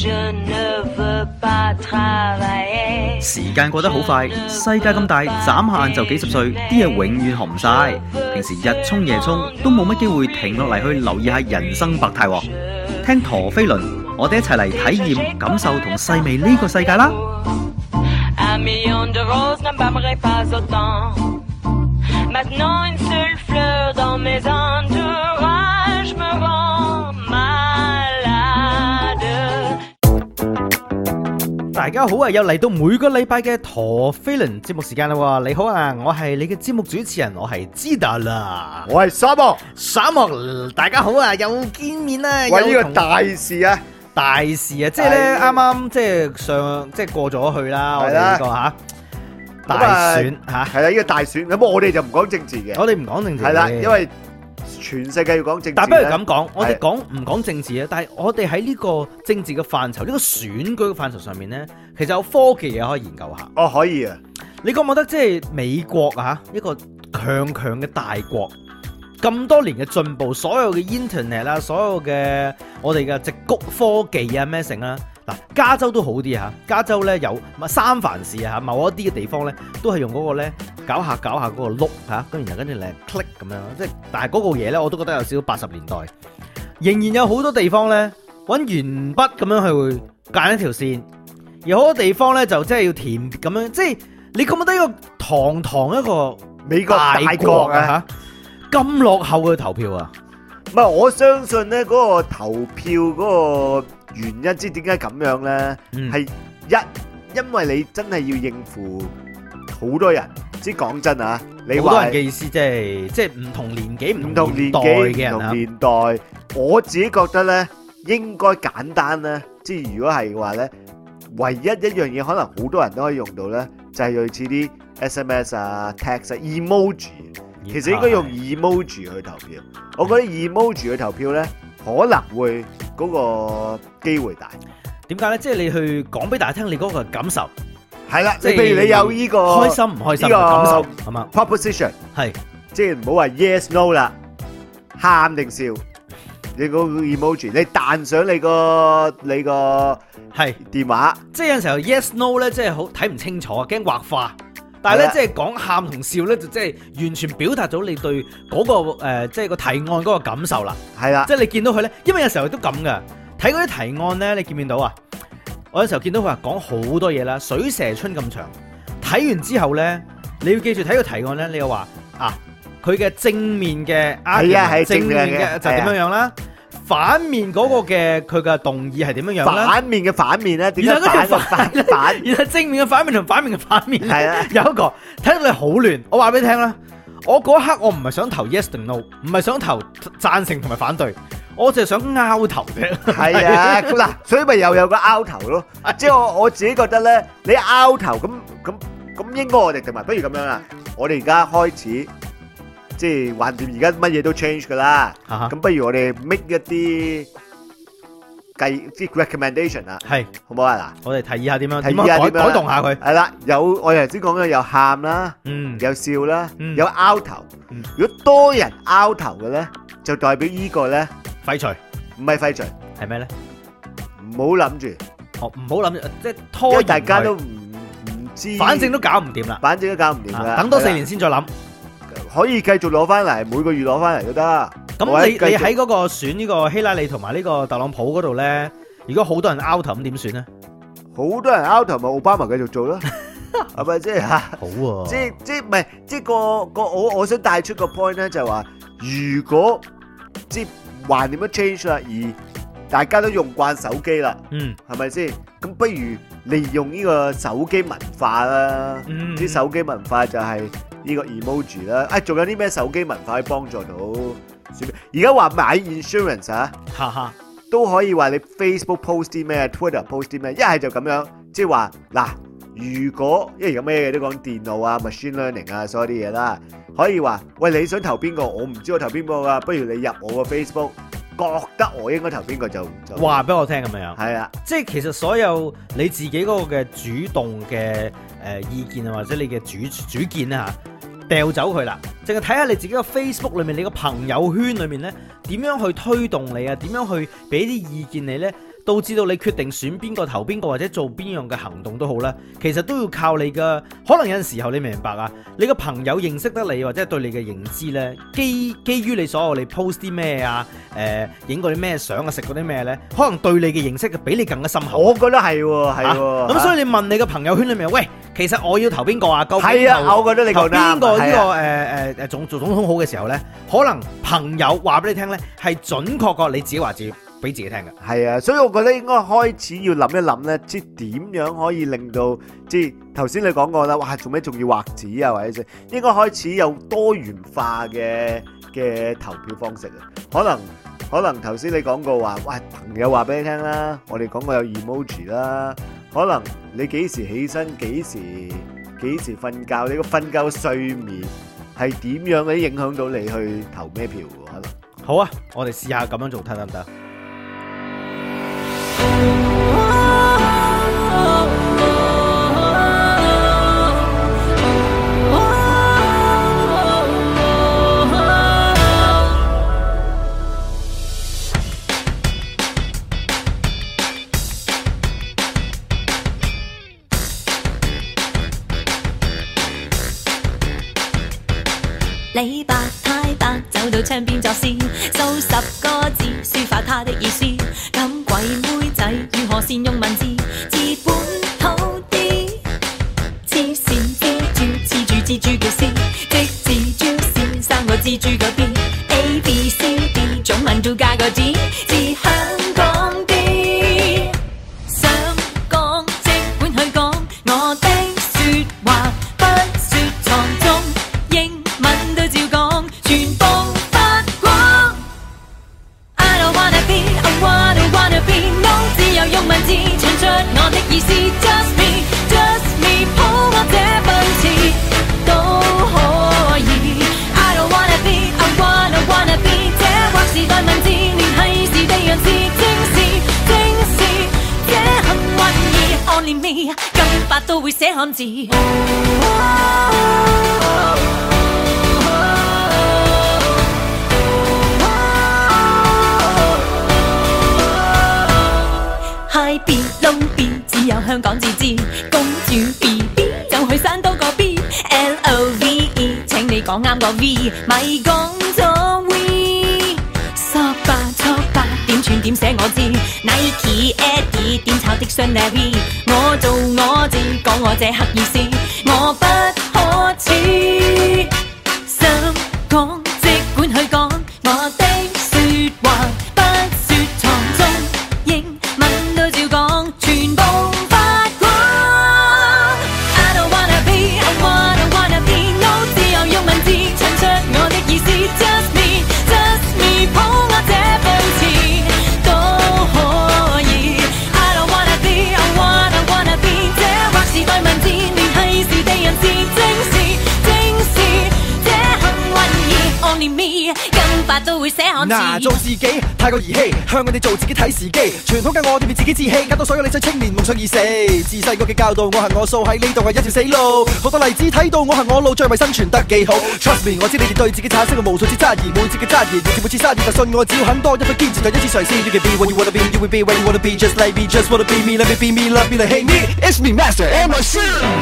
時間過得好快，世界咁大，眨下眼就幾十歲，啲嘢永遠學唔晒。平時日沖夜沖，都冇乜機會停落嚟去留意下人生百態。聽陀飛輪，我哋一齊嚟體驗、感受同細味呢個世界啦！大家好啊！又嚟到每個禮拜嘅陀飛輪節目時間啦！你好啊，我係你嘅節目主持人，我係知達啦， 我係沙漠， 大家好啊，又見面啦！ 喂，呢個大事啊， 即係咧啱啱即係過咗去啦，我哋呢個大選吓， 係啦，呢個大選，咁我哋就唔講政治嘅， 我哋唔講政治， 係啦，因為全世界要講政治， 但不如咁講，我哋唔講政治啊，但係我哋喺呢個政治嘅範疇，呢個選舉嘅範疇上面咧，其實有科技嘢可以研究下。 哦，可以啊！ 你覺唔覺得即係美國啊，一個強嘅大國，咁多年嘅進步，所有嘅 internet 啦，所有嘅我哋嘅矽谷科技啊咩成啦，嗱，加州都好啲嚇，加州咧有三藩市啊，某一啲嘅地方咧都係用嗰個咧搞下嗰個碌嚇，跟住咧 click 咁樣，即係但係嗰個嘢咧我都覺得有少少80年代，仍然有好多地方咧揾鉛筆咁樣去間一條線，而好多地方咧就即係要填咁樣，即係你覺唔覺得一個堂一個美國大國啊嚇咁落後嘅投票啊？ 唔係，我相信咧嗰個投票嗰個原因，知點解咁樣咧？係因為你真係要應付好多人。即係講真啊，你話好多人嘅意思即係唔同年紀、唔同年代嘅人啊。 唔同年代，我自己覺得咧應該簡單咧。即係如果係嘅話咧，唯一一樣嘢可能好多人都可以用到咧，就係類似啲 SMS 啊、text 啊、emoji。其實應該用 emoji 去投票。我覺得 emoji 去投票咧，可能會嗰個機會大。 點解咧？即係你去講俾大家聽你嗰個感受。 係啦，你譬如你有呢個開心唔開心嘅感受，係嘛 ？Proposition 係， 即係唔好話 yes no 啦，喊定笑，你個 emoji，你彈上你個係電話， 即係有陣時候 yes no 咧，即係好睇唔清楚啊，驚畫花。但係咧，即係講喊同笑咧，就即係完全表達咗你對嗰個即係個提案嗰個感受啦。 係啦， 即係你見到佢咧，因為有時候都咁噶，睇嗰啲提案咧，你見唔見到啊？我有時候見到佢話講好多嘢啦，水蛇春咁長，睇完之後咧，你要記住睇個提案咧，你又話佢嘅正面嘅係正面嘅就點樣樣啦，反面嗰個嘅佢嘅動議係點樣樣啦， 反面嘅反面咧，點解反？ 然後正面嘅反面同反面嘅反面係啊， 有一個睇到你好亂，我話俾你聽啦，我嗰刻我唔係想投 yes 定 no， 唔係想投贊成同埋反對。我就係想拗頭啫， 係啊，嗱，所以咪又有個拗頭咯。即係我自己覺得咧，你拗頭咁應該我哋定埋，不如咁樣啦。我哋而家開始即係橫掂，而家乜嘢都 change 噶啦。咁不如我哋 make 一啲即係 recommendation 啊，係好唔好啊？嗱， 我哋提議下點樣改動下佢。 係啦，有我哋頭先講嘅有喊啦，有笑啦，有拗頭。如果多人拗頭嘅咧，就代表呢個咧。 廢除唔係廢除， 係咩咧？ 唔好諗住， 唔好諗住，即係拖延。 因為大家都唔知， 反正都搞唔掂啦。等多4年先再諗， 可以繼續攞翻嚟，每個月攞翻嚟都得。 咁你喺嗰個選呢個希拉里同埋呢個特朗普嗰度咧，如果好多人 out 頭咁點算咧？ 好多人 out 頭咪奧巴馬繼續做咯，係咪即係吓？ 好啊， 即係唔係即係個我想帶出個 point 咧，就係話如果即係。還點樣 change 啦？而大家都用慣手機啦，係咪先？咁不如利用呢個手機文化啦，啲手機文化就係呢個 emoji 啦。仲有啲咩手機文化可以幫助到？而家話買 insurance 啊，都可以話你 Facebook post 啲咩 ，Twitter post 啲咩，一係就咁樣，即係話嗱，如果因為有咩嘢都講電腦啊、machine learning 啊，所有啲嘢啦。可以話，喂，你想投邊個？我唔知我投邊個噶，不如你入我個 Facebook，覺得我應該投邊個就話俾我聽咁樣。 係啊， 即係其實所有你自己嗰個嘅主動嘅意見啊，或者你嘅主見啊嚇，掉走佢啦，淨係睇下你自己個 Facebook 裏面，你個朋友圈裏面咧點樣去推動你啊，點樣去俾啲意見你咧， 導致到你決定選邊個投邊個或者做邊樣嘅行動都好啦，其實都要靠你嘅。可能有陣時候你明白啊，你個朋友認識得你或者對你嘅認知呢，基於你所有你 post 啲咩啊，影過啲咩相啊，食過啲咩呢，可能對你嘅認識比你更加深厚。 我覺得係喎，係喎。 咁所以你問你嘅朋友圈裏面，喂，其實我要投邊個啊？究竟係啊，我覺得你講得啱。 邊個呢個做總統好嘅時候呢，可能朋友話俾你聽呢，係準確過你自己話自己俾自己聽嘅。 係啊，所以我覺得應該開始要諗一諗呢，即係點樣可以令到即係頭先你講過啦，哇，做咩仲要畫紙啊，或者應該開始有多元化嘅投票方式啊。可能頭先你講過話，喂，朋友話俾你聽啦，我哋講過有 emoji 啦，可能你幾時起身，幾時瞓覺，你個瞓覺睡眠係點樣嘅影響到你去投咩票喎？可能好啊，我哋試下咁樣做睇得唔得？ 李白太白走到窗邊作詩，數10個字抒發他的意思。咁鬼妹仔如何善用文字，治本土啲？黐線蜘蛛叫絲，即蜘蛛線3個蜘蛛個 B，A B C D 中文都加個 G， 至香港啲。想講即管去講，我的説話不説藏蹤。照講，全部發光。I don't wanna be, I wanna be, no， 只有用文字唱出我的意思。Just me, just me， 抱我這份詞都可以。I don't wanna be, I wanna be， 這劃時代文字聯繫是地人事，正是這幸運兒 Only me， 金髮都會寫漢字。別撈別，只有香港自知。公主 BB 就去山多個 B，LOVE， 請你講啱個 V， 咪講咗 V。索吧，點串點寫我知。Nike Eddie 點炒的雙 Navy， 我做我字，講我這黑意思，我不可恥。想講即管去講，我的説話不説藏蹤。全部發光。I don't wanna be, I wanna be， no， 只有用文字唱出我的意思。Just me， 抱我這份詞都可以。I don't wanna be, I wanna be， 這劃時代文字聯繫是地人事，正是這幸運兒 Only me， 金髮都會寫漢字。 做自己太過兒戲，向人哋做自己睇時機。傳統嘅我哋變自己志氣，搞到所有理想青年夢想已死。自細個嘅教導，我行我素，喺呢度係一條死路。好多例子睇到我行我路，最為生存得幾好。Trust me， 我知你哋對自己產生嘅無數次質疑，每次嘅質疑，每次生意，但信我只要肯多一分堅持，就一次嘗試。You can be what you wanna be, you will be what you wanna be, just like me, just wanna be me, let me be me, love me, like hate me. It's me, Master MC。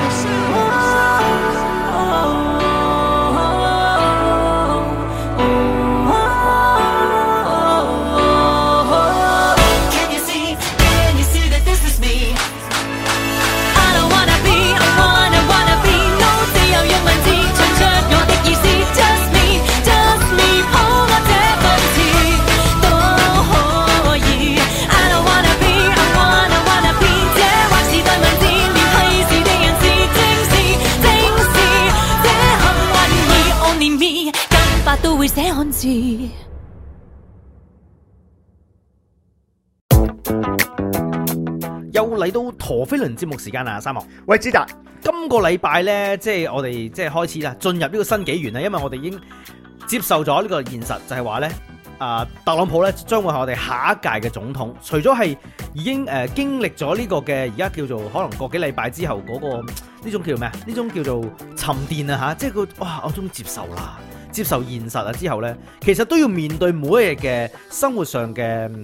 都會寫漢字。 又嚟到陀飛輪節目時間啦，三毛。 喂，知達， 今個禮拜呢，即係我哋即係開始啦，進入呢個新紀元啦，因為我哋已經接受咗呢個現實，就係話呢，特朗普呢將會係我哋下一屆嘅總統。除咗係已經經歷咗呢個嘅而家叫做可能個幾禮拜之後嗰個呢種叫咩啊？呢種叫做沉澱啊嚇，即係佢哇，我終於接受啦。接受現實啊之後呢，其實都要面對每一日嘅生活上嘅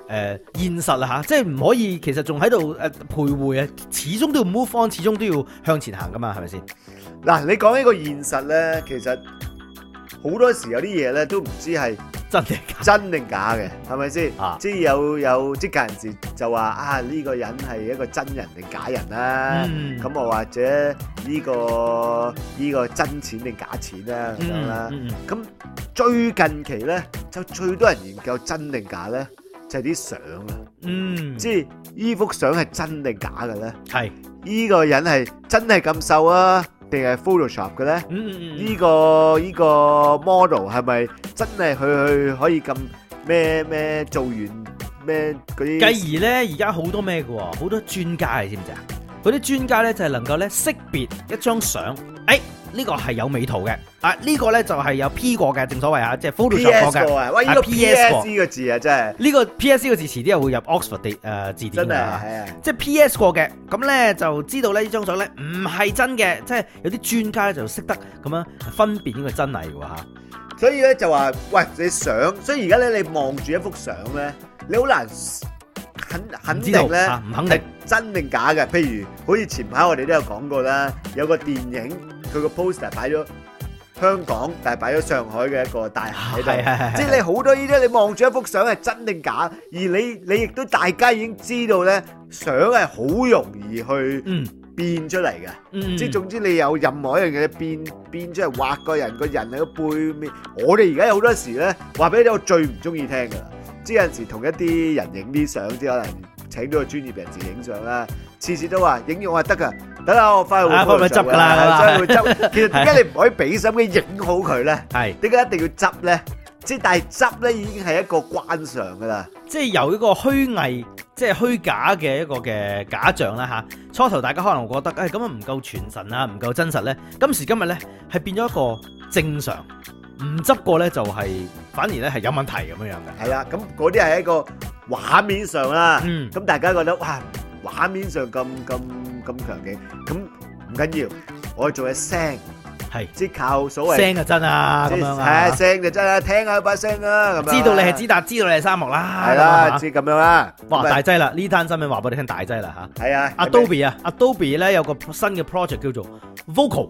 現實啦嚇，即係唔可以其實仲喺度徘徊啊，始終都要 move on， 始終都要向前行噶嘛，係咪先？ 嗱，你講呢個現實咧，其實好多時有啲嘢咧都唔知係真定假？ 真定假嘅，係咪先？即係有職界人士就話啊，呢個人係一個真人定假人啦，咁我或者呢個真錢定假錢啦咁樣啦。咁最近期咧就最多人研究真定假咧，就係啲相啊。即係呢幅相係真定假嘅咧？係呢個人係真係咁瘦啊？定係 Photoshop 嘅咧？呢個 model 係咪真係佢可以咁咩做完咩嗰啲？ 繼而咧，而家好多咩嘅喎，好多專家你知唔知啊？嗰啲專家咧就係能夠咧識別一張相，呢個係有美圖嘅，呢個咧就係有 P 過嘅，正所謂啊，即係 Photoshop 過嘅。 喂，呢個 PS 呢個字啊，真係呢個 PS 呢個字遲啲又會入 Oxford 字典㗎，即係 PS 過嘅，咁咧就知道咧呢張相咧唔係真嘅，即係有啲專家咧就識得咁樣分辨呢個真偽㗎嚇。 所以咧就話，喂，你相，所以而家咧你望住一幅相咧，你好難肯定咧， 唔肯定真定假嘅。譬如好似前排我哋都有講過啦，有個電影佢個 poster 擺咗香港，但係擺咗上海嘅一個大廈喺度，即係你好多呢啲，你望住一幅相係真定假，而你亦都大家已經知道咧，相係好容易去變出嚟嘅，即係總之你有任何一樣嘢變出嚟，畫個人喺個背面。我哋而家有好多時咧，話俾你聽，我最唔中意聽噶啦，即係有陣時同一啲人影啲相，即係可能請到個專業人士影相啦，次次都話影完我話得噶，等下我翻去會執噶啦，真係會執。其實點解你唔可以俾心機影好佢咧？係點解一定要執咧？即係但係執咧已經係一個慣常噶啦， 即係由一個虛偽，即係虛假嘅一個嘅假象啦嚇。初頭大家可能會覺得咁啊唔夠傳神啊，唔夠真實咧。今時今日咧係變咗一個正常，唔執過咧就係反而咧係有問題咁樣嘅。 係啦，咁嗰啲係一個畫面上啦，咁大家覺得哇畫面上咁強勁，咁唔緊要，我哋做嘅聲。係，即係靠所謂聲就真啊，咁樣啊， 係聲就真啊，聽下把聲啊，咁樣。 知道你係知達，知道你係沙漠啦， 係啦，即係咁樣啦。 哇，大劑啦！呢單新聞話俾你聽，大劑啦嚇。 係啊 ，Adobe 咧有個新嘅 project 叫做 Vocal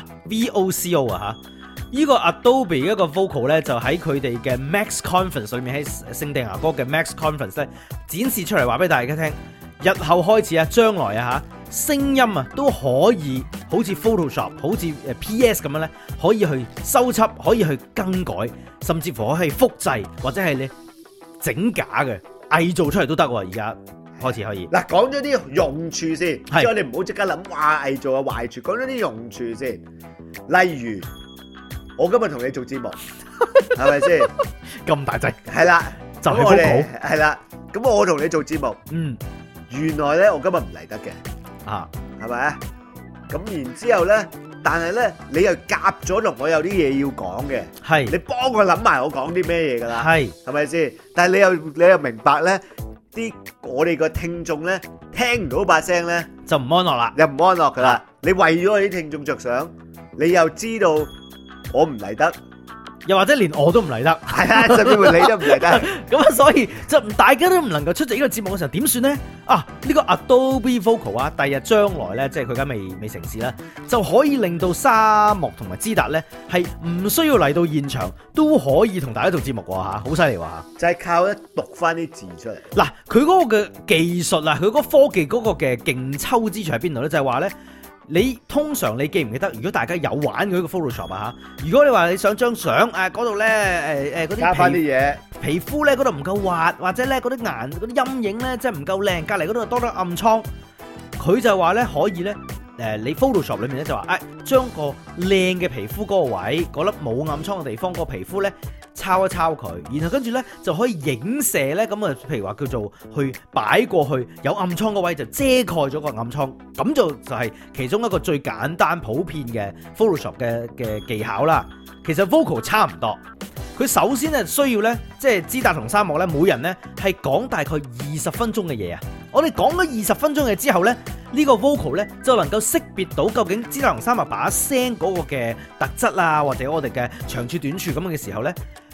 VOCO 啊嚇。呢個 Adobe 一個 Vocal 咧就喺佢哋嘅 Max Conference 裏面，喺聖地牙哥嘅 Max Conference 咧展示出嚟，話俾大家聽。日後開始啊，將來啊嚇，聲音啊都可以好似 Photoshop、好似PS 咁樣咧，可以去修輯，可以去更改，甚至乎可以複製或者係你整假嘅偽造出嚟都得喎。而家開始可以。 嗱，講咗啲用處先，即係我哋唔好即刻諗哇偽造嘅壞處，講咗啲用處先。例如我今日同你做節目，係咪先？ 咁大劑。 係啦， 就係 Vocal。 係啦，咁我同你做節目，原來咧我今日唔嚟得嘅，係咪啊？咁然之後咧，但係咧你又夾咗同我有啲嘢要講嘅，係你幫我諗埋我講啲咩嘢噶啦，係咪先？但係你又明白咧，我哋個聽眾咧聽唔到把聲咧就唔安樂啦， 又唔安樂噶啦。你為咗我啲聽眾着想，你又知道我唔嚟得。 又或者連我都唔嚟得， 係啊，甚至乎你都唔嚟得， 咁啊，所以就大家都唔能夠出席呢個節目嘅時候，點算咧？呢個 Adobe Vocal 啊，第日將來咧，即係佢而家未成事啦，就可以令到沙漠同埋知達咧係唔需要嚟到現場都可以同大家做節目喎嚇，好犀利喎嚇！ 就係靠咧讀翻啲字出嚟。 嗱，佢嗰個嘅技術啊，佢嗰個科技嗰個嘅勁抽之處喺邊度咧？就係話咧。你通常你記唔記得？如果大家有玩佢個 Photoshop 啊嚇，如果你話你想張相嗰度咧嗰啲加翻啲嘢， 皮膚咧嗰度唔夠滑，或者咧嗰啲嗰啲陰影咧即係唔夠靚，隔離嗰度多咗暗瘡，佢就話咧可以咧你 Photoshop 裏面咧就話將個靚嘅皮膚嗰個位嗰粒冇暗瘡嘅地方個皮膚咧抄一抄佢，然後跟住咧就可以影射咧咁啊，譬如話叫做去擺過去有暗瘡嗰位就遮蓋咗個暗瘡，咁就係其中一個最簡單普遍嘅 Photoshop 嘅技巧啦。其實 Vocal 差唔多，佢首先咧需要咧即係知達同沙漠咧每人咧係講大概20分鐘嘅嘢啊。我哋講咗20分鐘嘅之後咧，呢個 Vocal 咧就能夠識別到究竟知達同沙漠把聲嗰個嘅特質啊，或者我哋嘅長處短處咁嘅時候咧。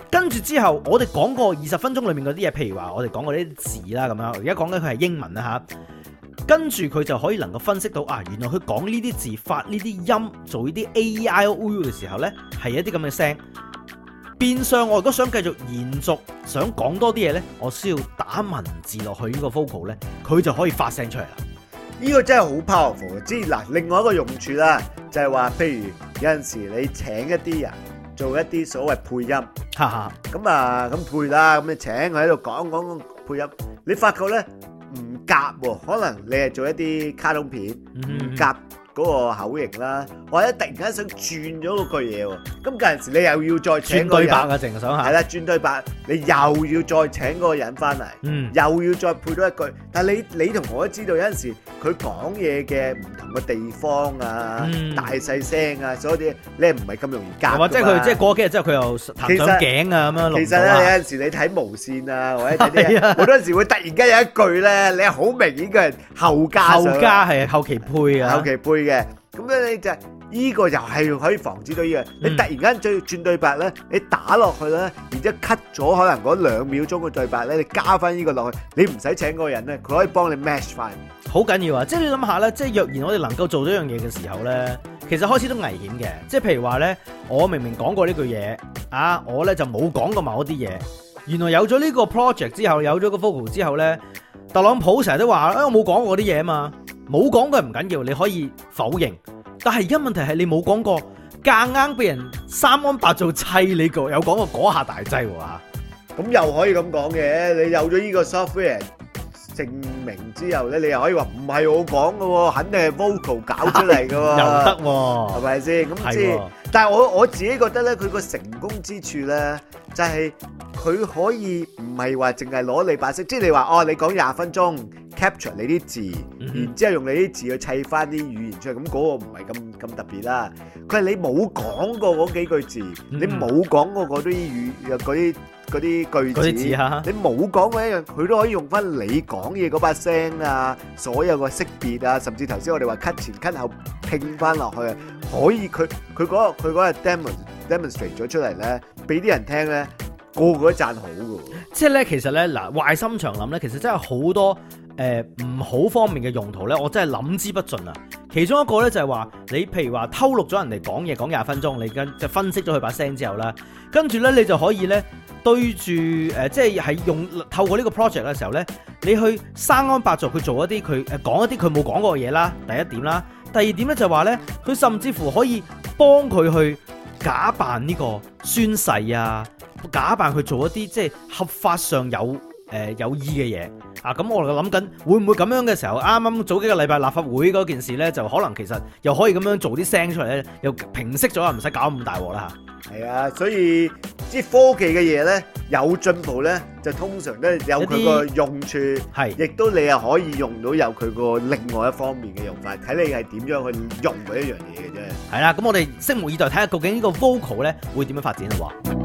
跟住之後，我哋講過20分鐘裏面嗰啲嘢，譬如話我哋講過呢啲字啦咁樣，而家講緊佢係英文啦嚇。跟住佢就可以能夠分析到原來佢講呢啲字、發呢啲音、做呢啲 A-I-O-U 嘅時候呢，係一啲咁嘅聲。變相我如果想繼續延續，想講多啲嘢呢，我需要打文字落去呢個 vocal 呢，佢就可以發聲出嚟啦。 呢個真係好 powerful 嘅。即係嗱，另外一個用處啦，就係話，譬如有陣時你請一啲人做一啲所謂配音，咁配啦，咁你請佢喺度講配音，你發覺呢唔夾喎，可能你係做一啲卡通片唔夾嗰個口型啦，或者突然間想轉咗嗰句嘢喎，咁嗰陣時你又要再請個人轉對白啊，淨係想下。 係啦，轉對白，你又要再請嗰個人翻嚟，又要再配多一句。但係你同我都知道有陣時佢講嘢嘅唔同嘅地方啊，大細聲啊，所有啲你係唔係咁容易夾㗎嘛？ 或者佢即係過幾日之後佢又彈上頸啊咁樣。 其實咧有陣時你睇無線啊，或者睇啲好多陣時會突然間有一句咧，你係好明顯佢係後加係後期配啊， 後期配嘅。咁咧你就依個又係可以防止到依個。你突然間轉對白咧，你打落去咧，然之後 cut 咗可能嗰2秒鐘嘅對白咧，你加翻依個落去，你唔使請嗰個人咧，佢可以幫你 match 翻。好緊要啊！即係你諗下咧，即係若然我哋能夠做到一樣嘢嘅時候咧，其實開始都危險嘅。即係譬如話咧，我明明講過呢句嘢啊，我咧就冇講過某一啲嘢。原來有咗呢個 project 之後，有咗個 vocal 之後咧，特朗普成日都話我冇講過啲嘢啊嘛。冇講過唔緊要，你可以否認。但係而家問題係你冇講過，夾硬俾人三安八做砌你個，有講過嗰下大劑喎。 咁又可以咁講嘅，你有咗呢個 software 證明之後咧，你又可以話唔係我講嘅喎，肯定係 vocal 搞出嚟嘅喎， 又得喎， 係咪先？咁即係，但係我自己覺得咧，佢個成功之處咧，就係佢可以唔係話淨係攞你把聲，即係你話你講20分鐘 capture 你啲字，然之後用你啲字去砌翻啲語言出嚟，咁嗰個唔係咁特別啦。佢係你冇講過嗰幾句字，你冇講過嗰啲句子，你冇講過一樣，佢都可以用翻你講嘢嗰把聲啊，所有個識別啊，甚至頭先我哋話 cut 前 cut 後拼翻落去啊，可以佢嗰日 demonstrate 咗出嚟咧，俾啲人聽咧，個個都讚好㗎。 即係咧，其實咧嗱，壞心腸諗咧，其實真係好多唔好方面嘅用途咧，我真係諗之不盡啊！其中一個咧就係話，你譬如話偷錄咗人哋講嘢講20分鐘，你就分析咗佢把聲之後啦，跟住咧你就可以咧對住即係透過呢個 project 嘅時候咧，你去生安白做佢做一啲佢講一啲佢冇講過嘅嘢啦，第一點啦，第二點咧就係話咧，佢甚至乎可以幫佢去假扮呢個宣誓啊，假扮佢做一啲即係合法上有意嘅嘢啊！咁我哋諗緊會唔會咁樣嘅時候，啱啱早幾個禮拜立法會嗰件事呢，就可能其實又可以咁樣做啲聲出嚟呢，又平息咗，唔使搞咁大鑊啦嚇。 係啊，所以即係科技嘅嘢呢，有進步呢，就通常都有佢個用處，係亦都你又可以用到有佢個另外一方面嘅用法，睇你係點樣去用嗰一樣嘢嘅啫。 係啦，咁我哋拭目以待，睇下究竟呢個 vocal 呢會點樣發展啦喎。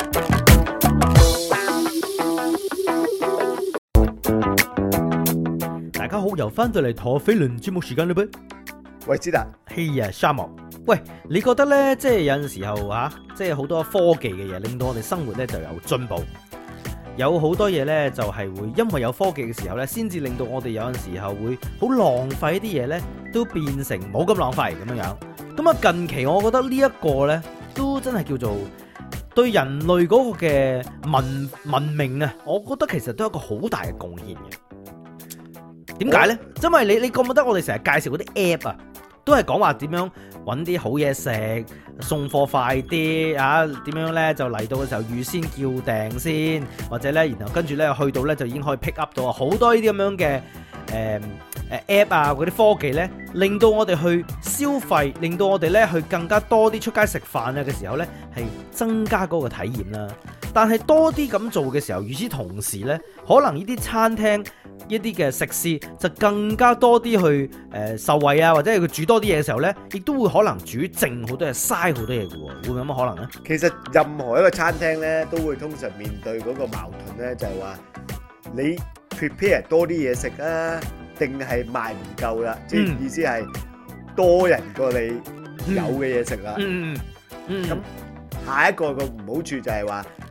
大家好，又翻到嚟陀飛輪節目時間啦噃。 喂，知達， 嘿呀，沙漠。喂，你覺得呢？即係有陣時候即係好多科技嘅嘢，令到我哋生活呢就有進步。有好多嘢呢，就係會因為有科技嘅時候呢，先至令到我哋有陣時候會好浪費啲嘢呢，都變成冇咁浪費咁樣樣。咁啊，近期我覺得呢一個呢，都真係叫做對人類嗰個嘅文明啊，我覺得其實都有一個好大嘅貢獻嘅。點解呢？因為你覺唔覺得我哋成日介紹嗰啲 app 啊，都係講話點樣揾啲好嘢食，送貨快啲啊？點樣呢？就嚟到嘅時候預先叫訂先，或者呢，然後跟住呢，去到呢，就已經可以 pick up 到好多呢啲咁樣嘅app 啊，嗰啲科技呢，令到我哋去消費，令到我哋呢去更加多啲出街食飯啊嘅時候呢，係增加嗰個體驗啦。但係多啲咁做嘅時候，與此同時呢，可能呢啲餐廳一啲嘅食肆就更加多啲去受惠啊，或者係佢煮多啲嘢嘅時候呢，亦都會可能煮剩好多嘢，嘥好多嘢嘅喎，會唔會有乜可能呢？ 其實任何一個餐廳呢，都會通常面對嗰個矛盾呢，就係話你 prepare 多啲嘢食啊，定係賣唔夠啦？即係意思係多人過你有嘅嘢食啦。咁下一個個唔好處就係話，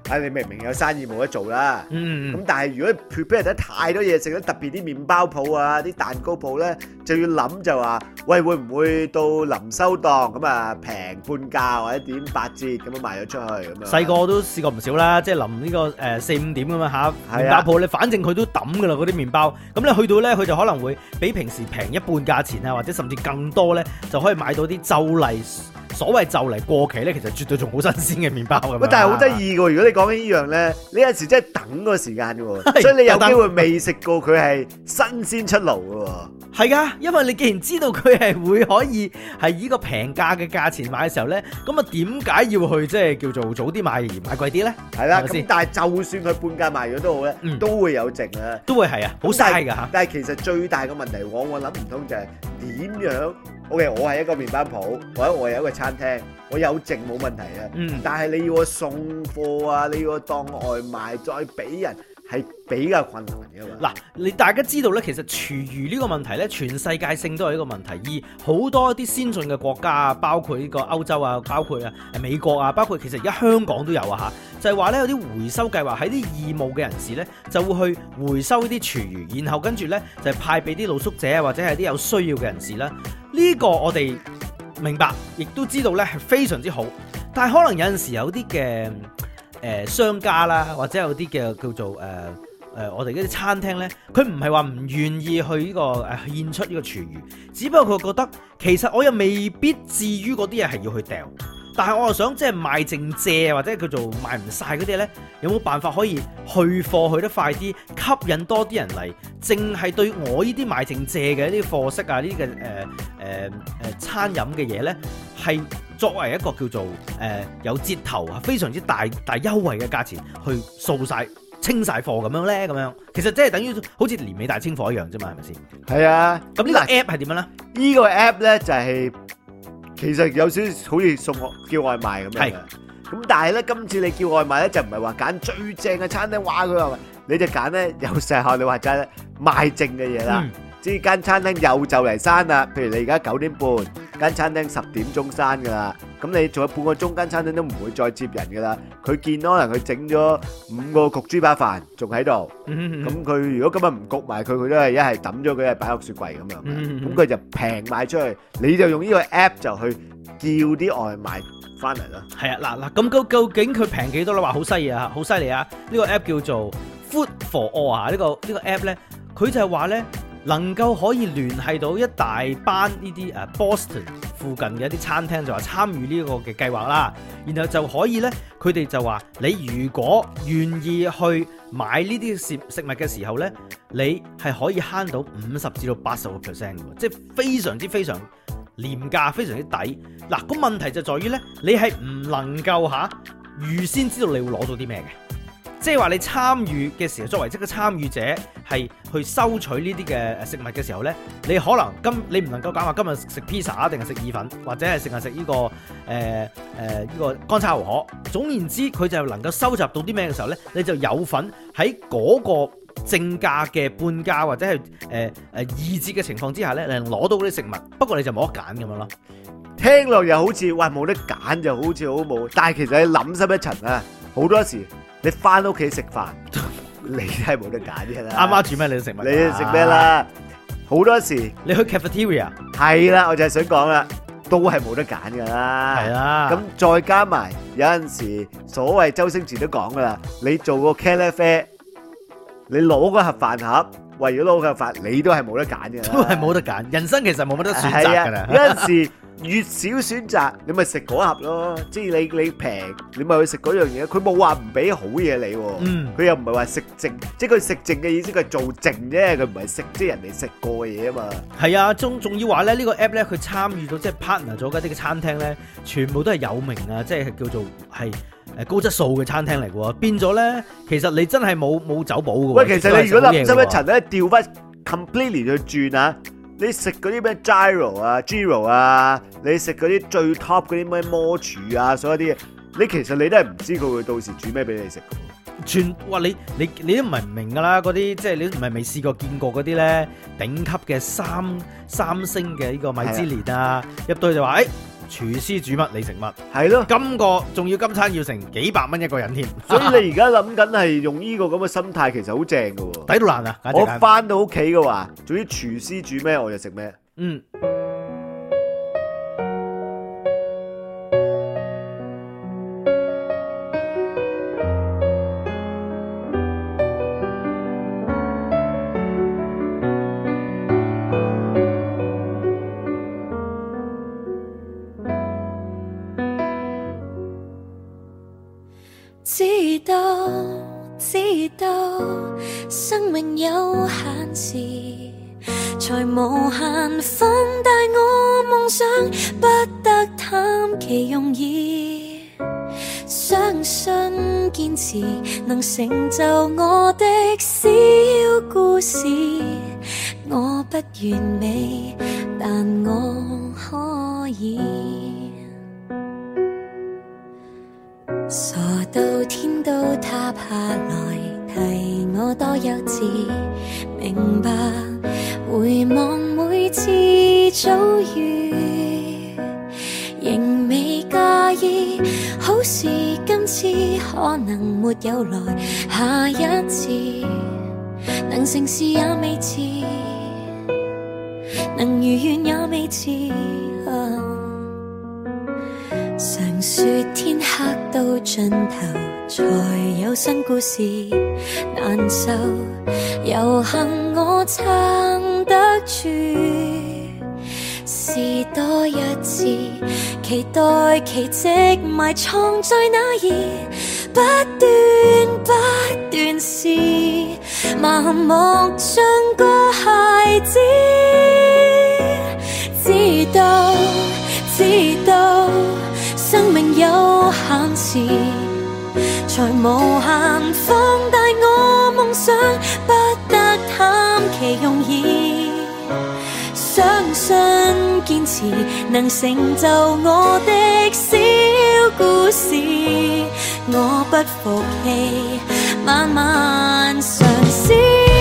你明明有生意冇得做啦。 嗯咁但係如果 prepare 得太多嘢食咧，特別啲麵包鋪啊、啲蛋糕鋪咧，就要諗就話，喂會唔會到臨收檔咁啊平半價或者點8折咁樣賣咗出去咁樣？ 細個都試過唔少啦，即係臨呢個4-5點咁樣嚇， 係啊麵包鋪你反正佢都抌噶啦嗰啲麵包，咁你去到咧佢就可能會比平時平一半價錢啊，或者甚至更多咧，就可以買到啲就嚟所謂就嚟過期咧，其實絕對仲好新鮮嘅麵包咁樣。 喂，但係好得意嘅喎，如果你講緊呢樣咧，你有時真係等個時間嘅喎， 係所以你有機會未食過佢係新鮮出爐嘅喎。 係噶，因為你既然知道佢係會可以係以個平價嘅價錢買嘅時候咧，咁啊點解要去即係叫做早啲買而買貴啲咧？ 係啦，咁係咪先但係就算佢半價賣咗都好咧，都會有剩啊。 都會係啊，好嘥㗎嚇。 但係其實最大嘅問題，往往諗唔通就係點樣？OK，我係一個麵包鋪，或者我有一個餐廳，我有剩冇問題啊。但係你要我送貨啊，你要我當外賣再俾人，係比較困難嘅嘛。 嗱，大家知道咧，其實廚餘呢個問題咧，全世界性都係一個問題，而好多一啲先進嘅國家啊，包括呢個歐洲啊，包括美國啊，包括其實而家香港都有啊嚇，就係話咧有啲回收計劃，喺啲義務嘅人士咧就會去回收呢啲廚餘，然後跟住咧就係派俾啲露宿者啊，或者係啲有需要嘅人士啦。呢個我哋明白，亦都知道咧係非常之好，但係可能有陣時有啲嘅商家啦，或者有啲嘅叫做我哋嗰啲餐廳呢，佢唔係話唔願意去呢個獻出呢個廚餘，只不過佢覺得其實我又未必至於嗰啲嘢係要去掉，但係我又想即係賣剩蔗或者叫做賣唔晒嗰啲呢，有冇辦法可以去貨去得快啲，吸引多啲人嚟，淨係對我呢啲賣剩蔗嘅呢啲貨色啊，呢啲嘅餐飲嘅嘢呢，係作為一個叫做有折頭啊，非常之大優惠嘅價錢去掃晒清晒貨咁樣咧，咁樣其實即係等於好似年尾大清貨一樣啫嘛，係咪先？ 係啊， 咁呢個 app 係點樣咧？ 呢個 app 咧就係其實有少少好似送叫外賣咁樣嘅。咁但係咧，今次你叫外賣咧就唔係話揀最正嘅餐廳，哇佢話你就揀咧有時候你話齋咧賣剩嘅嘢啦。即係間餐廳又就嚟閂啦，譬如你而家9點半，間餐廳10點鐘閂噶啦，咁你仲有半個鐘，間餐廳都唔會再接人噶啦。佢見可能佢整咗5個焗豬扒飯仲喺度，咁佢如果今日唔焗埋佢，佢都係一係抌咗佢，一係擺落雪櫃咁樣。咁佢就平賣出去，你就用呢個 app 就去叫啲外賣翻嚟啦。 係啊，嗱，咁究竟佢平幾多咧？話好犀利啊，好犀利啊！呢個 app 叫做 Food for All 啊，呢個 app 咧，佢就係話咧，能夠可以聯繫到一大班呢啲Boston 附近嘅一啲餐廳，就話參與呢個嘅計劃啦。然後就可以咧，佢哋就話你如果願意去買呢啲食物嘅時候咧，你係可以慳到50%至到80%嘅，即係非常之非常廉價，非常之抵。嗱，個問題就在於咧，你係唔能夠預先知道你會攞到啲咩嘅。即係話你參與嘅時候，作為一個參與者，係去收取呢啲嘅食物嘅時候呢，你可能你唔能夠講話今日食 pizza 定係食意粉，或者係淨係食呢個呢個乾炒牛河。總言之，佢就能夠收集到啲咩嘅時候呢，你就有份喺嗰個正價嘅半價或者係二折嘅情況之下呢，你能攞到嗰啲食物。不過你就冇得揀咁樣咯。 聽落又好似哇冇得揀，就好似好冇。但係其實你諗深一層啊，好多時。你翻屋企食飯，你都係冇得揀嘅啦。 阿媽煮咩你食乜？ 你食咩啦？好多時你去 cafeteria 係啦，我就係想講啦，都係冇得揀噶啦。 係啦， 咁再加埋有陣時，所謂周星馳都講噶啦，你做個茄喱啡，你攞個盒飯盒，為咗攞個盒飯，你都係冇得揀嘅。 都係冇得揀，人生其實冇乜得選擇㗎啦。 有陣時。越少選擇，你咪食嗰盒咯。即係你平，你咪去食嗰樣嘢。佢冇話唔俾好嘢你，佢又唔係話食剩，即係佢食剩嘅意思，佢係做剩啫，佢唔係食即係人哋食過嘅嘢啊嘛。係啊，仲要話咧呢個 app 咧，佢參與到即係 partner 咗嗰啲嘅餐廳咧，全部都係有名啊，即係叫做係高質素嘅餐廳嚟嘅喎。變咗咧，其實你真係冇走寶嘅喎。 喂，其實你如果諗深一層咧，調翻 completely 去轉啊！你食嗰啲咩 gyro 啊，你食嗰啲最 top 嗰啲咩魔廚啊，所有啲嘢，你其實你都係唔知佢會到時煮咩俾你食嘅。 哇！你都唔係唔明㗎啦，嗰啲即係你唔係未試過見過嗰啲咧頂級嘅三星嘅呢個米芝蓮啊，入到去就話廚師煮乜你食乜， 係咯。 今個仲要今餐要成幾百蚊一個人添， 所以你而家諗緊係用呢個咁嘅心態，其實好正㗎喎。 抵到爛啊！簡直我係翻到屋企嘅話，總之廚師煮咩我就食咩。 嗯。 知道生命有限時，才無限放大我夢想，不得貪其容易。相信堅持能成就我的小故事。我不完美，但我可以。傻到天都塌下來，提我多幼稚。明白回望每次遭遇，仍未介意。好事今次可能沒有來，下一次能成事也未遲，能如願也未遲。常說天黑到盡頭才有新故事，難受有幸我撐得住，試多一次，期待奇蹟埋藏在哪兒，不斷試，盲目像個孩子，知道生命有限時，才無限放大我夢想，不得貪其容易。相信堅持能成就我的小故事，我不服氣，慢慢嘗試。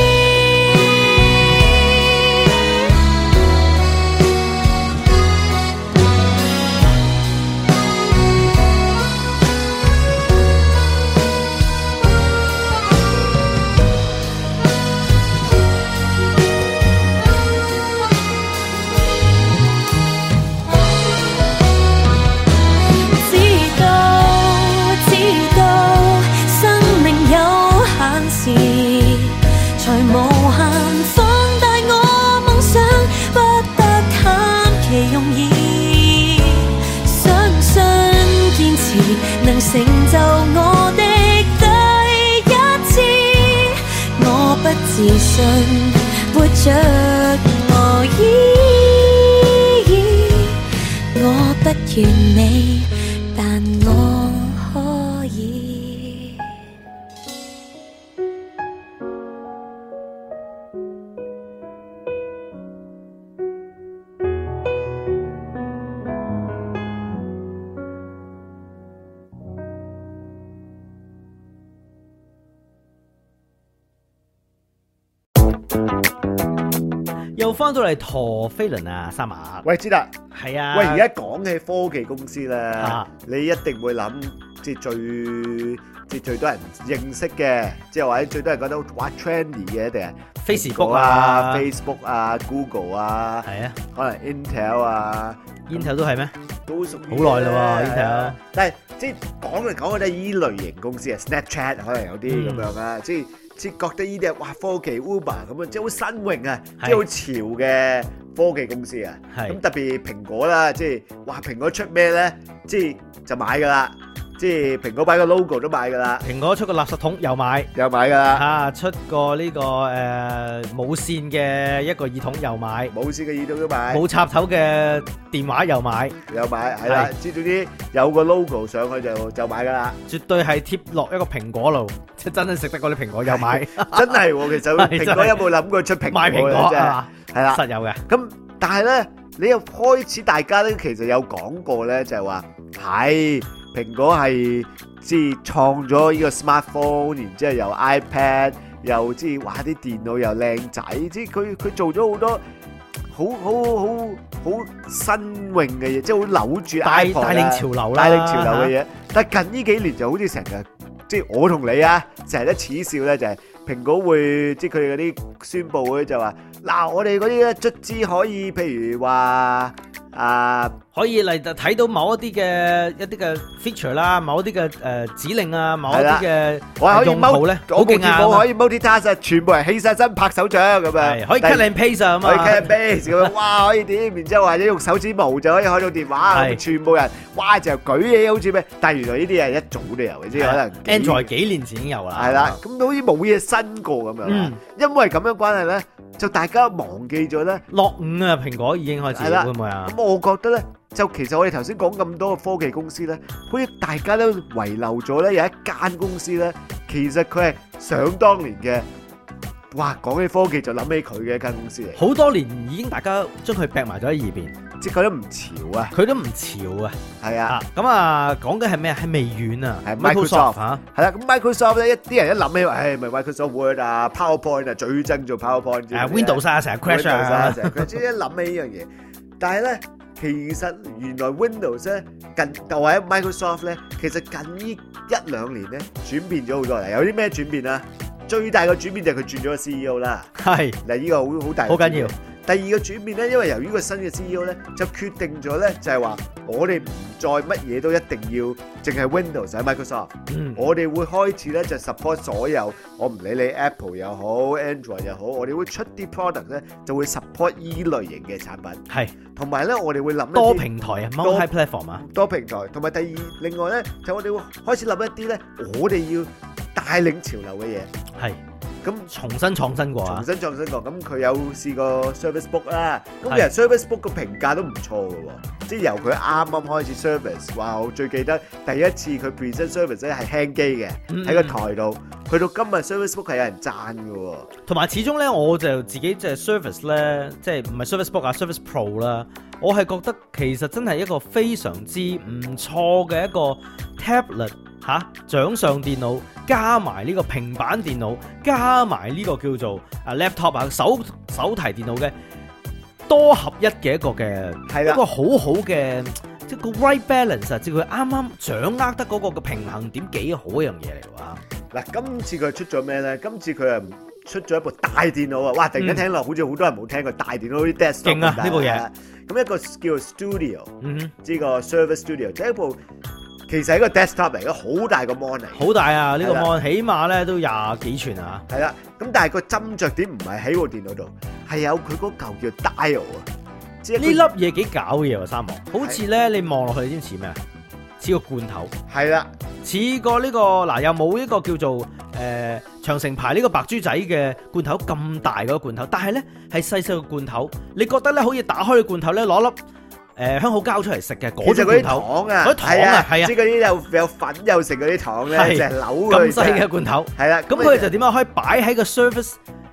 才無限放大我夢想，不得貪其容易。相信堅持能成就我的第一次，我不自信活着我不完美，但我可以。 又翻到嚟陀飛輪啊，三馬。 喂，知啦， 係啊。 喂，而家講起科技公司咧，你一定會諗，即係最多人認識嘅，即係或者最多人覺得哇 trendy 嘅，一定係 Facebook 啊、 Facebook 啊、Google 啊， 係啊， 可能 Intel 啊 ，Intel 都係咩？ 都屬於好耐啦喎 Intel。 但係即係講嚟講去都係依類型公司啊 ，Snapchat 可能有啲咁樣啊，即係覺得呢啲係哇科技 Uber 咁樣，即係好新穎啊，即係好潮嘅科技公司啊。咁特別蘋果啦，即係哇蘋果出咩咧，即係就買㗎啦。即係蘋果擺個 logo 都買㗎啦。 蘋果出個垃圾桶又買㗎啦。 出個呢個冇線嘅一個耳筒又買。 冇線嘅耳筒都買。冇插頭嘅電話又買。 係啦。即係總之有個 logo 上去就買㗎啦。 絕對係貼落一個蘋果度，即係真係食得嗰啲蘋果又買。 真係喎，其實蘋果有冇諗過出蘋果賣蘋果啊？ 係啦， 實有嘅。 咁但係咧，你又開始大家咧其實有講過咧，就係話係。蘋果係即係創咗呢個 smartphone，然之後又 iPad，又即係哇啲電腦又靚仔，即係佢做咗好多好好新穎嘅嘢，即係好扭住帶 iPod 啊領潮流啦， 帶領潮流嘅嘢。但係近呢幾年就好似成日，即係我同你啊，成日都恥笑咧，就係蘋果會即係佢哋嗰啲宣佈咧就話，嗱我哋嗰啲咧卒之可以，譬如話可以嚟睇到某一啲嘅 feature 啦，某一啲嘅指令啊，某一啲嘅用途咧，好勁啊！ 我可以 multitask 啊，全部人起晒身拍手掌咁樣， 可以 cut and paste 啊嘛， 可以 cut and paste 咁樣，哇可以點？然之後或者用手指模就可以開到電話，全部人哇就舉嘢好似咩？但係原來呢啲係一早都有嘅，即係可能 Android 幾年前已經有啦。 係啦，咁好似冇嘢新過咁樣。因為咁樣關係咧，就大家忘記咗咧。 落伍啊，蘋果已經開始會唔會啊？ 咁我覺得咧。就其實我哋頭先講咁多個科技公司咧，好似大家都遺留咗咧有一間公司咧，其實佢係想當年嘅，哇講起科技就諗起佢嘅一間公司嚟。 好多年已經大家將佢劈埋咗喺二邊， 即係佢都唔潮啊！ 佢都唔潮啊！ 係啊！ 咁啊講緊係咩？係微軟啊， 係 Microsoft 嚇。係啦，咁 Microsoft 咧一啲人一諗起話，咪 Microsoft Word 啊、PowerPoint 啊，最憎做 PowerPoint。 Windows 啊，成日 crash 啊， 成日 crash。即係一諗起呢樣嘢，但係咧。其實原來 Windows 咧或者 Microsoft 咧，其實近呢一兩年咧轉變咗好多啦。有啲咩轉變啊？最大嘅轉變就係佢轉咗個 CEO 啦。係嗱，呢個好大，好緊要。第二個轉變咧，因為由於個新嘅 CEO 咧，就決定咗咧，就係話我哋唔再乜嘢都一定要淨係 Windows 喺 Microsoft。我哋會開始咧就 support 所有，我唔理你 Apple 又好 Android 又好，我哋會出啲 product 咧就會 support 依類型嘅產品。係，同埋咧我哋會諗多平台啊 ，multi platform 啊， 多平台。同埋另外咧就我哋會開始諗一啲咧，我哋要帶領潮流嘅嘢。係。咁重新創新過啊！ 重新創新過，咁佢有試過 Service Book 啦。咁其實 Service Book 個評價都唔錯嘅喎，即係由佢啱啱開始 service，哇！我最記得第一次佢 present service 咧係輕機嘅，喺個台度，去到今日 Service Book 係有人讚嘅喎。 同埋始終咧，我就自己即係 service 咧，即係唔係 Service Book 啊 ，Service Pro 啦，我係覺得其實真係一個非常之唔錯嘅一個 tablet。掌上電腦加埋呢個平板電腦加埋呢個叫做laptop 啊手提電腦嘅多合一嘅一個嘅一個好好嘅即係個 right balance 啊，即係佢啱啱掌握得嗰個嘅平衡點幾好一樣嘢嚟㗎。 嗱，今次佢出咗咩咧？今次佢係出咗一部大電腦啊！哇，突然間聽落好似好多人冇聽過大電腦啲 desktop 勁啊呢部嘢。 咁一個叫 Studio，呢個 Service Studio，即係一部。其實係一個 desktop 嚟嘅，好大個 mon 嚟， 好大啊！呢個 mon 起碼咧都廿幾寸啊！ 係啦，咁但係個斟酌點唔係喺部電腦度，係有佢嗰嚿叫 dial 啊！ 即係呢粒嘢幾搞嘢喎，三毛，好似咧你望落去，你知唔似咩啊？似個罐頭，係啦，似個呢個嗱，又冇一個叫做長城牌呢個白豬仔嘅罐頭咁大嗰個罐頭，但係咧係細細個罐頭，你覺得咧可以打開個罐頭咧攞粒。香口膠出嚟食嘅嗰種罐頭， 糖啊， 嗰啲糖啊，係啊， 即係嗰啲有粉又食嗰啲糖咧，就係扭咁細嘅罐頭，係啦。咁佢就點樣可以擺喺個 Surface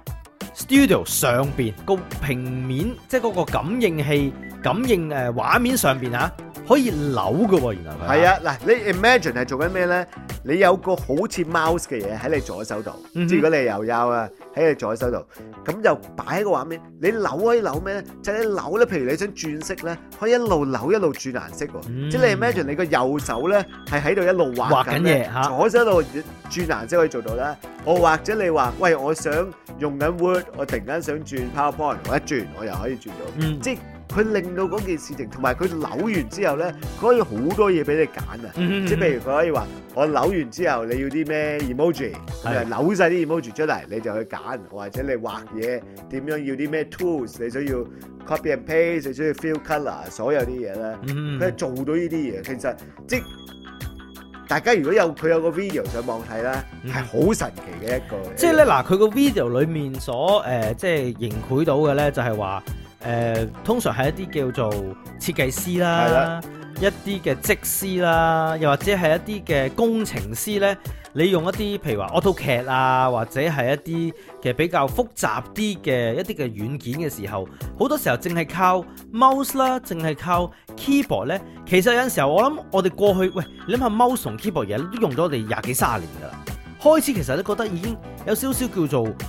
Studio 上邊個平面，即係嗰個感應器感應畫面上邊啊，可以扭嘅喎，原來佢係啊。嗱，你 imagine 係做緊咩咧？你有個好似 mouse 嘅嘢喺你左手度，即係如果你係右優啊，喺你左手度，咁就擺喺個畫面。你扭可以扭咩咧？就係你扭咧，譬如你想轉色咧，可以一路扭一路轉顏色喎。即係你 imagine 你個右手咧係喺度一路畫緊嘢嚇，左手度轉顏色可以做到啦。我或者你話，喂，我想用緊 Word，我突然間想轉 PowerPoint，我一轉我又可以轉到，即係。佢令到嗰件事情，同埋佢扭完之後咧，佢可以好多嘢俾你揀啊！即係譬如佢可以話，我扭完之後你要啲咩 emoji，扭晒啲 emoji 出嚟，你就去揀，或者你畫嘢點樣要啲咩 tools，你需要 copy and paste，你需要 fill colour，所有啲嘢咧，佢係做到呢啲嘢。其實即係大家如果佢有個 video 上網睇咧，係好神奇嘅一個。 即係咧嗱，佢個 video 裡面所即係凝繪到嘅咧，就係話。通常係一啲叫做設計師啦，一啲嘅則師啦，又或者係一啲嘅工程師咧，你用一啲譬如話 AutoCAD 啊，或者係一啲嘅比較複雜啲嘅一啲嘅軟件嘅時候，好多時候淨係靠 mouse 啦，淨係靠 keyboard 咧，其實有陣時候我諗我哋過去，喂，你諗下 mouse 同 keyboard 嘢都用咗我哋20幾30年噶啦，開始其實都覺得已經有少少叫做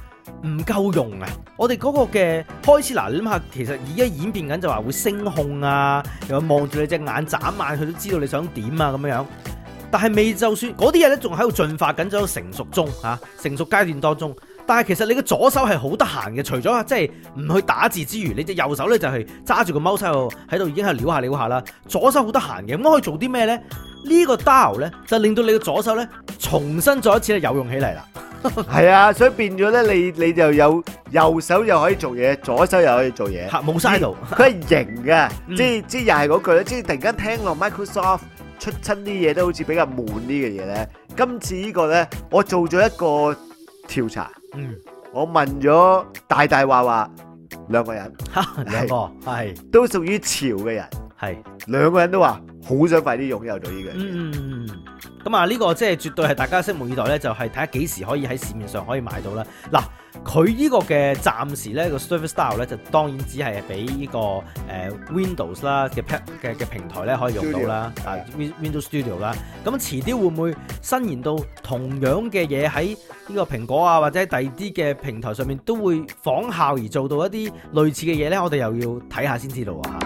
唔夠用啊！我哋嗰個嘅開始嗱，你諗下，其實而家演變緊就話會聲控啊，又望住你隻眼眨眼，佢都知道你想點啊咁樣。但係未就算嗰啲嘢咧，仲喺度進化緊，仲喺成熟中嚇，成熟階段當中。但係其實你嘅左手係好得閒嘅，除咗即係唔去打字之餘，你隻右手咧就係揸住個 mouse 喺度已經係撩下啦。左手好得閒嘅，咁可以做啲咩咧？呢個 dial 咧就令到你嘅左手咧重新再一次咧有用起嚟啦。 係啊，所以變咗咧，你就有右手又可以做嘢，左手又可以做嘢， 冇嘥到。 佢係型嘅，即係又係嗰句咧，即係突然間聽落 Microsoft 出親啲嘢都好似比較悶啲嘅嘢咧。今次呢個咧，我做咗一個調查，我問咗大話兩個人， 兩個係都屬於潮嘅人，係兩個人都話好想快啲擁有到呢樣嘢。 咁啊，呢個即係絕對係大家拭目以待咧，就係睇下幾時可以喺市面上可以買到啦。嗱，佢呢個嘅暫時咧個 Surface Dial 咧就當然只係俾呢個Windows 啦嘅平台咧可以用到啦，Windows Studio 啦。咁遲啲會唔會伸延到同樣嘅嘢喺呢個蘋果啊或者第二啲嘅平台上面都會仿效而做到一啲類似嘅嘢咧？我哋又要睇下先知道啊！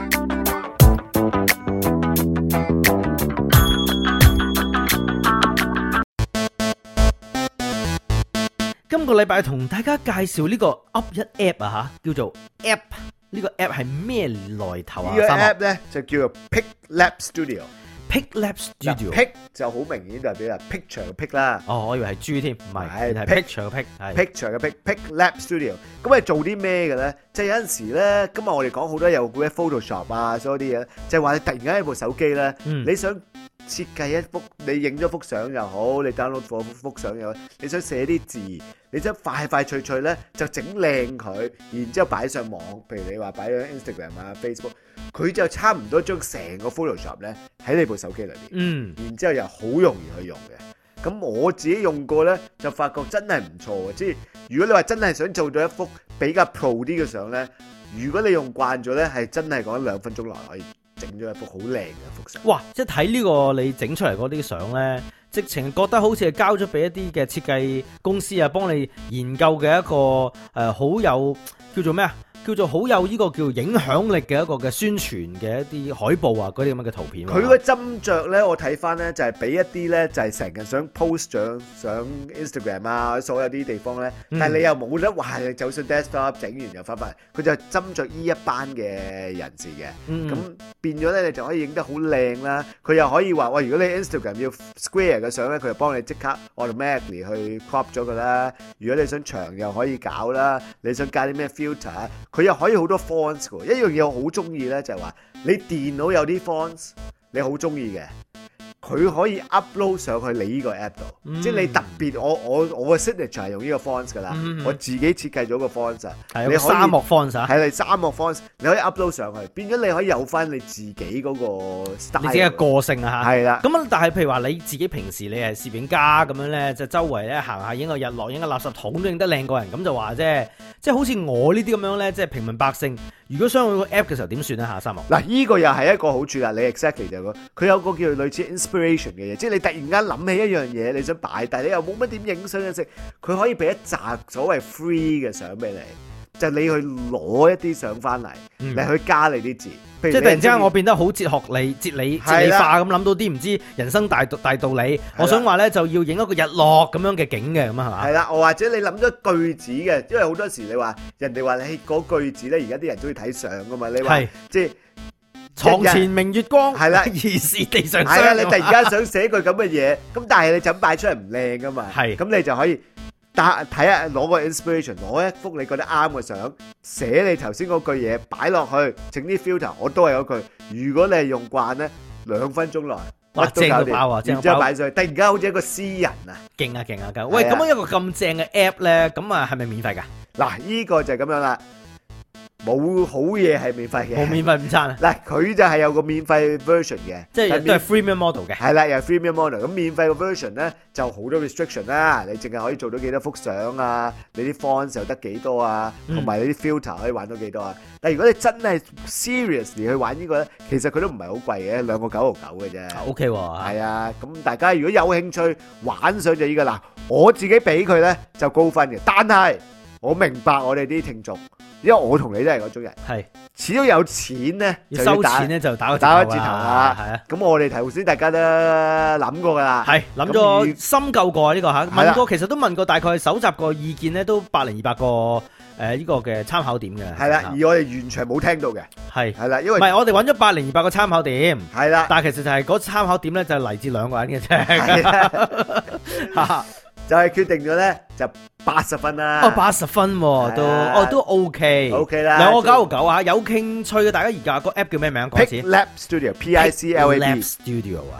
今個禮拜同大家介紹呢個 Up 一 App 啊嚇，叫做 App。呢個 App 係咩來頭啊？ 呢個 App 咧就叫做 PicLab Studio。PicLab Studio，Pic 就好明顯代表係 picture 嘅 pic 啦。 哦，我以為係豬添，唔係，係 picture 嘅 pic，係 picture 嘅 PicLab Studio。咁係做啲咩嘅咧？即係有陣時咧，今日我哋講好多有嘅 Photoshop 啊，所有啲嘢，就係話你突然間喺部手機咧，你想設計一幅，你影咗幅相又好，你 download 幅相又好，你想寫啲字，你想快脆咧就整靚佢，然之後擺上網，譬如你話擺咗 Instagram 啊 Facebook， 佢就差唔多將成個 Photoshop 咧喺你部手機裏邊，然之後又好容易去用嘅。咁我自己用過咧，就發覺真係唔錯嘅。即係如果你話真係想做到一幅比較 pro 啲嘅相咧，如果你用慣咗咧，係真係講2分鐘內可以整咗一幅好靚嘅幅相。 哇！即係睇呢個你整出嚟嗰啲相咧，直情覺得好似係交咗俾一啲嘅設計公司啊，幫你研究嘅一個好有叫做咩啊？叫做好有呢個叫影響力嘅一個嘅宣傳嘅一啲海報啊，嗰啲咁嘅圖片。 佢個斟酌咧，我睇翻咧就係俾一啲咧就係成日想 post 上 Instagram 啊，所有啲地方咧，但係你又冇得話你走上 desktop 整完又翻返嚟，佢就斟酌呢一班嘅人士嘅。咁變咗咧，你就可以影得好靚啦。佢又可以話喂，如果你 Instagram 要 square 嘅相咧，佢就幫你即刻 automatically 去 crop 咗佢啦。如果你想長又可以搞啦，你想加啲咩 filter。佢又可以好多 fonts 嘅，一樣嘢我好中意咧，就係話你電腦有啲 fonts 你好中意嘅，佢可以 upload 上去你呢個 app 度，即係你特別我嘅 signature 係用呢個 fonts 噶啦，我自己設計咗個 fonts 啊，你可以沙漠 fonts 啊， 係你沙漠 fonts，你可以 upload 上去，變咗你可以有翻你自己嗰個 style， 你自己嘅個性啊嚇， 係啦。 咁但係譬如話你自己平時你係攝影家咁樣咧，就周圍咧行下影個日落，影個垃圾桶都影得靚過人，咁就話啫。即係好似我呢啲咁樣咧，即係平民百姓，如果想用個 app 嘅時候點算咧嚇？沙漠嗱，呢個又係一個好處啦。你 exactly 就係佢有個叫做類似 inspiration 嘅嘢，即係你突然間諗起一樣嘢，你想擺，但係你又冇乜點影相嘅時，佢可以俾一紮所謂 free 嘅相俾你，就你去攞一啲相翻嚟，你去加你啲字。 即係突然之間我變得好哲理化咁，諗到啲唔知人生大道理。我想話咧就要影一個日落咁樣嘅景嘅咁啊，係嘛？ 係啦，或者你諗咗句子嘅，因為好多時你話人哋話你嗰句子咧，而家啲人中意睇相噶嘛，你話即係床前明月光， 係啦， 疑是地上霜。 係啊，你突然間想寫句咁嘅嘢，咁但係你就咁擺出嚟唔靚噶嘛，係，咁你就可以睇下攞個 inspiration， 攞一幅你覺得啱嘅相，寫你頭先嗰句嘢擺落去，整啲 filter， 我都係嗰句。如果你係用慣咧，2分鐘內乜都搞掂，然之後擺上去，突然間好似一個詩人啊！ 勁啊勁啊勁！喂，咁樣一個咁正嘅 app 咧，咁啊係咪免費㗎？ 嗱，呢個就係咁樣啦。冇好嘢係免費嘅， 冇免費午餐啊！ 嗱，佢就係有個免費 version 嘅， 即係都係 freemium model 嘅。 係啦，又係 freemium model。咁免費嘅 version 咧就好多 restriction 啦，你淨係可以做到幾多幅相啊，你啲 fonts 又得幾多啊，同埋你啲 filter 可以玩到幾多啊。但係如果你真係 seriously 去玩呢個咧，其實佢都唔係好貴嘅，2個9.9嘅啫。 OK 喎， 係啊，咁大家如果有興趣玩上就呢個啦，我自己俾佢咧就高分嘅，但係我明白我哋啲聽眾，因為我同你都係嗰種人， 係始終有錢咧要收錢咧就打個打個折頭折頭啊， 係啊。 咁我哋頭先大家都諗過噶啦， 係諗咁咗深究過呢個嚇， 係啦問過其實都問過，大概搜集個意見咧都100-200個呢個嘅參考點嘅。 係啦，而我哋完全冇聽到嘅， 係係啦，因為唔係我哋揾咗100-200個參考點， 係啦， 但係其實就係嗰參考點咧就係嚟自兩個人嘅係啫。 啊就係決定咗咧就80分啦。 哦，80分喎都 OK 啦， 兩個9.9啊！有興趣嘅大家而家個 app 叫咩名？講一次 Piclab Studio Piclab Lab Studio 啊。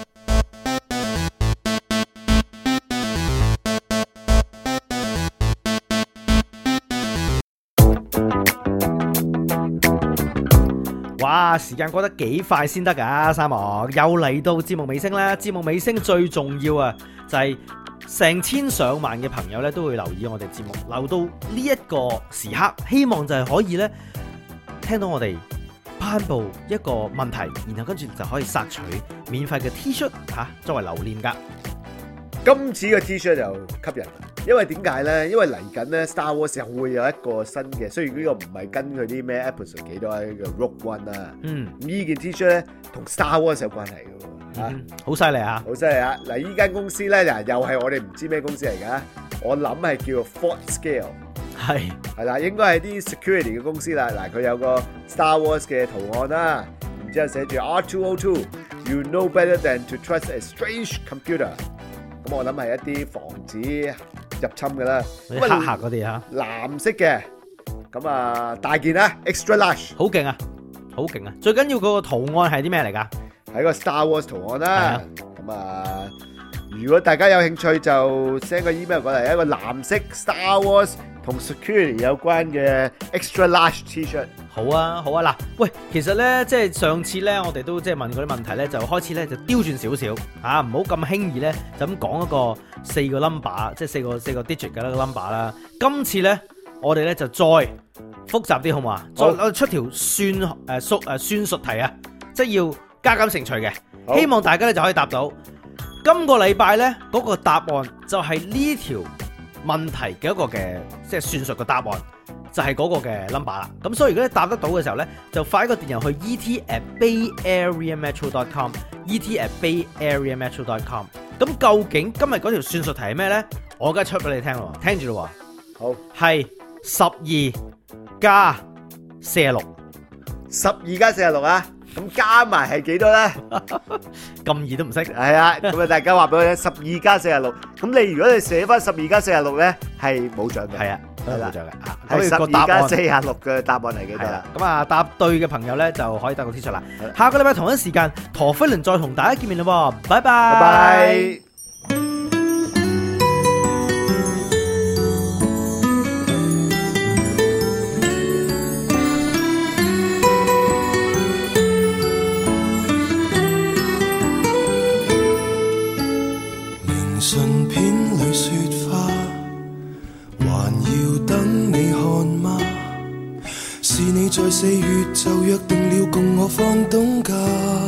哇！時間過得幾快先得㗎，三毛又嚟到節目尾聲啦！節目尾聲最重要啊，就係成千上萬嘅朋友咧都會留意我哋節目，留到呢一個時刻，希望就係可以咧聽到我哋頒布一個問題，然後跟住就可以索取免費嘅 T 恤嚇作為留念㗎。 今次嘅 T 恤就吸引，因為點解咧？因為嚟緊咧 Star Wars 又會有一個新嘅，雖然呢個唔係跟佢啲咩 episode 幾多嘅 Rogue One 啊，呢件 T 恤咧同 Star Wars 有關係嘅喎， 好犀利啊！ 好犀利啊！嗱，呢間公司咧又係我哋唔知咩公司嚟㗎，我諗係叫做 Fort Scale，係啦，應該係啲 security 嘅公司啦。嗱，佢有個 Star Wars 嘅圖案啦，然之後寫住 R202，You know better than to trust a strange computer。咁我諗係一啲防止入侵嘅啦， 黑客嗰啲嚇， 藍色嘅，咁啊大件啦 ，extra large， 好勁啊，好勁啊！最緊要嗰個圖案係啲咩嚟㗎？ 係個 Star Wars 圖案啦。咁啊，如果大家有興趣就 send 個 email 過嚟，一個藍色 Star Wars 同 security 有關嘅 extra large T-shirt。 好啊，好啊，嗱，喂，其實咧，即係上次咧，我哋都即係問嗰啲問題咧，就開始咧就刁轉少少啊，唔好咁輕易咧就咁講一個4個 number， 即係四個 digit 嘅一個 number 啦。今次咧，我哋咧就再複雜啲，好嘛？再出條算術題啊，即係要加減乘除嘅，希望大家咧就可以答到。今個禮拜咧嗰個答案就係呢條問題嘅一個嘅即係算術嘅答案。就係嗰個嘅 number 啦，咁所以如果你答得到嘅時候咧，就發一個電郵去 et@bayareametro.com，et@bayareametro.com。咁究竟今日嗰條算術題係咩咧？我而家出俾你聽咯，聽住咯。 好， 係12加46， 12加46啊！咁加埋係幾多咧？ 咁易都唔識。 係啊，咁啊大家話俾我聽12加46。咁你如果你寫翻12加46咧，係冇獎嘅。 係啊， 係啦， 冇獎嘅。 係12加46嘅答案係幾多啦？ 咁啊，答對嘅朋友咧就可以得個 T 恤啦。下個禮拜同一時間，陀飛輪再同大家見面啦，拜拜。 拜拜。 信片裏雪花，還要等你看嗎？是你在4月就約定了共我放冬假，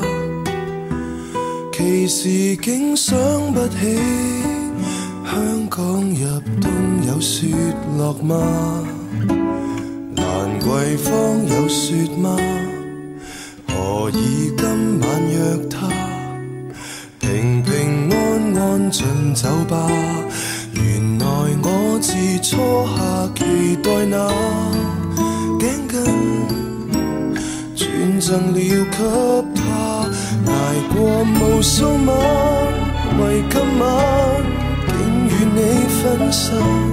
其時竟想不起香港入冬有雪落嗎？蘭桂坊有雪嗎？何以今晚約他？平平安安進酒吧，原來我自初夏期待那頸巾轉贈了給他，捱過無數晚，為今晚竟與你分散。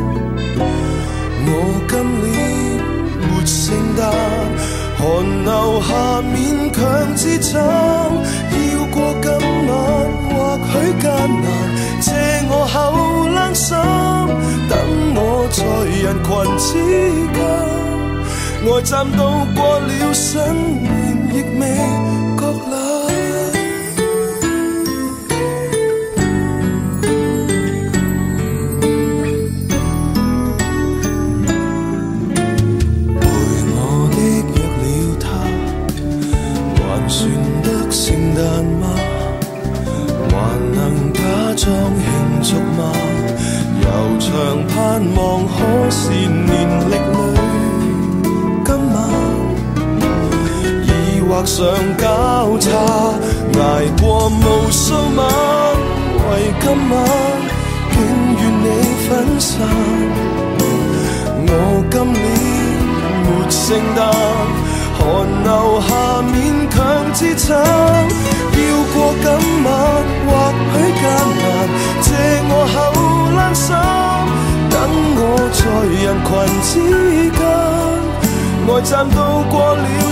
我今年沒聖誕，寒流下勉強支撐，要過今晚或許艱難，借我口冷心，等我在人群之間，呆站到過了新年亦未覺冷。陪我的約了他，還算得聖誕嗎？還能假裝慶祝嗎？悠長盼望可是畫上交叉，捱過無數晚，為今晚竟與你分散。我今年沒聖誕，寒流下勉強支撐，要過今晚或許艱難，借我後冷衫，等我在人群之間，呆站到過了